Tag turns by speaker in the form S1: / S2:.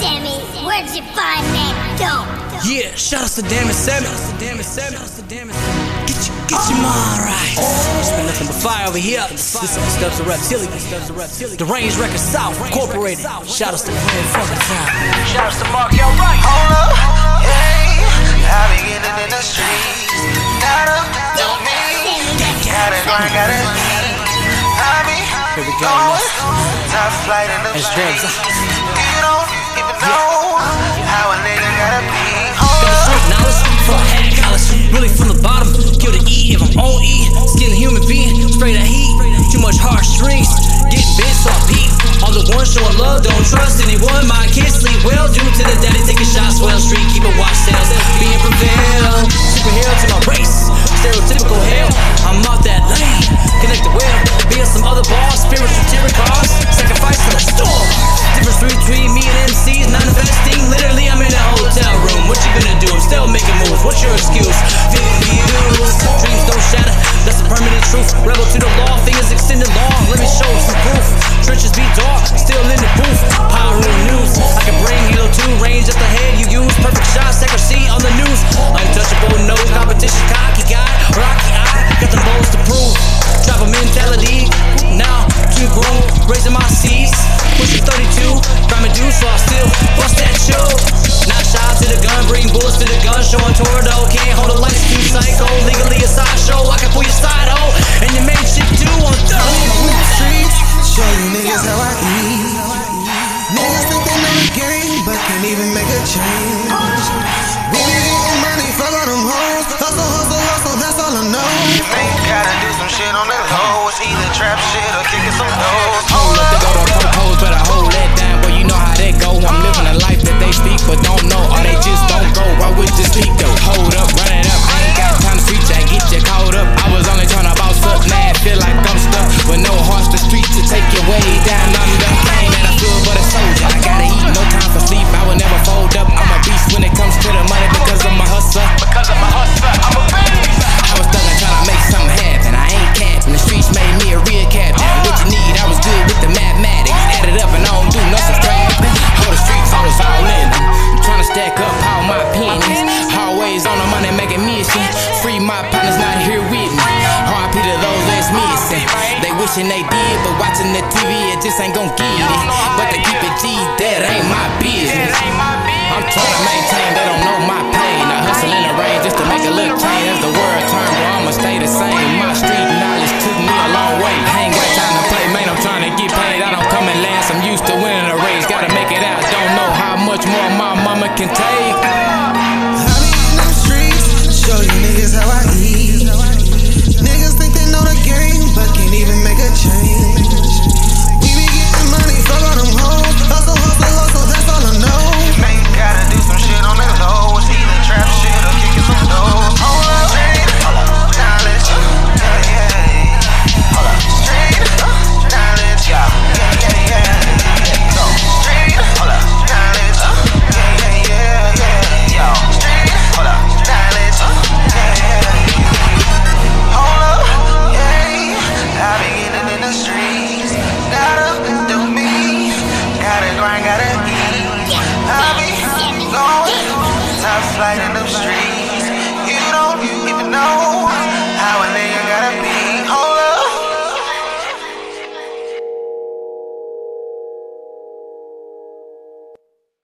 S1: Sammy, where'd you find that dope?
S2: Yeah, shout out to Damn It Sammy. Get your mind right. It's been nothing but fire over here. This is the Steps of Reptilian. The Range Records South Incorporated. Shout out to Grand Funky Town. Shout out to Mark L. Wright.
S3: Hold up, yeah, I be getting in the streets. Gotta do me. Gotta grind, gotta eat. I be going top flight in the streets. You don't even know how a nigga gotta be.
S2: Knowledge for a hat college, really from the bottom. Kill the E if I'm on E. Skin a human being, spray that heat. Too much heartstrings, getting bent so I peep. All the ones showing love, don't trust anyone. My kids sleep well due to the daddy taking shots. Well street, keep it watch sales, being prevailed. Superhero to my race, stereotypical hell. I'm off that lane, connected well. Being some other boss, spiritual terror cause. Sacrifice in the storm. Difference between me and MCs, manifesting. Literally, I'm in a hotel room. What you gonna do? I'm still making moves. What's your excuse? Dreams don't shatter. That's a permanent truth. Rebel to the law. Fingers extended long. Let me show some proof. Trenches be dark. Still in the booth. Power in the news. I can bring Halo 2. Range up the head you use. Perfect shots. Accuracy on the news. Untouchable. No competition. Cocky guy. Rocky eye. Got them balls to prove. Drop a mentality. Now too grown. Raising my C's. Pushing 32. Grinding dudes. So I still bust that show. Not shy to the gun. Bring bullets to the gun. Showing Tordo. Can't hold a light. Too psycho. Legally a sideshow. I can pull your side hoe. And your main chick too on third.
S3: Streets, show you niggas how I eat. Niggas think they know the game, but can't even make a change. We be getting money, fuck all them hoes. Hustle, that's all I know. You ain't gotta do some shit on the low. It's either trap shit or kicking some doors.
S4: Hold up, they go to propose, but I hold that down. But you know how that go. I'm living a life that they speak, but don't know. Or they just don't go. Why would you speak though? Hold up, run it up. I ain't got time to preach, I get you caught up. I was only trying to boss up, mad, feel like I'm stuck. With no horse, the street to take you way down under. Came at a field, but a soldier. I gotta eat, no time for sleep. I would never fold up. I'm a beast when it comes to the money because of my hustle. I'm a beast. I was stuck trying to make something happen. I ain't capping. The streets made me a real captain. What you need? I was good with the mathematics. Add it up and I don't do no subtracting. Hold the streets, hold us all in. I'm trying to stack up all my pennies. Always on the money making mission. Free my partners not here with me. RP to those that's missing. They wishing they did, but watching the TV it just ain't gon' get it. But to keep it G, that ain't my business. I'm trying to maintain, they don't know my pain. I hustle in the rain just to make a little change. As the world turn, bro, I'ma stay the same. My street knowledge took me a long way. I ain't got time to play, man, I'm trying to get paid. I don't come in last, I'm used to winning a race. Gotta make it out, don't know how much more my mama can take.
S3: I be in them streets, show you niggas how I eat. Niggas think they know the game, but can't even make a change. We be getting money, fuck all them hoes. Hustle, that's all I know. You ain't gotta do some shit on the low. It's either trap shit or kicking some doors. Hold up, knowledge, yeah. Hold up, street, knowledge, yeah. Go, street, hold up, knowledge, yeah. Yo, street, hold up, knowledge, yeah. Hold up, yeah. I be getting in the streets. Gotta do me. Gotta grind, gotta eat. I be going top flight in the streets.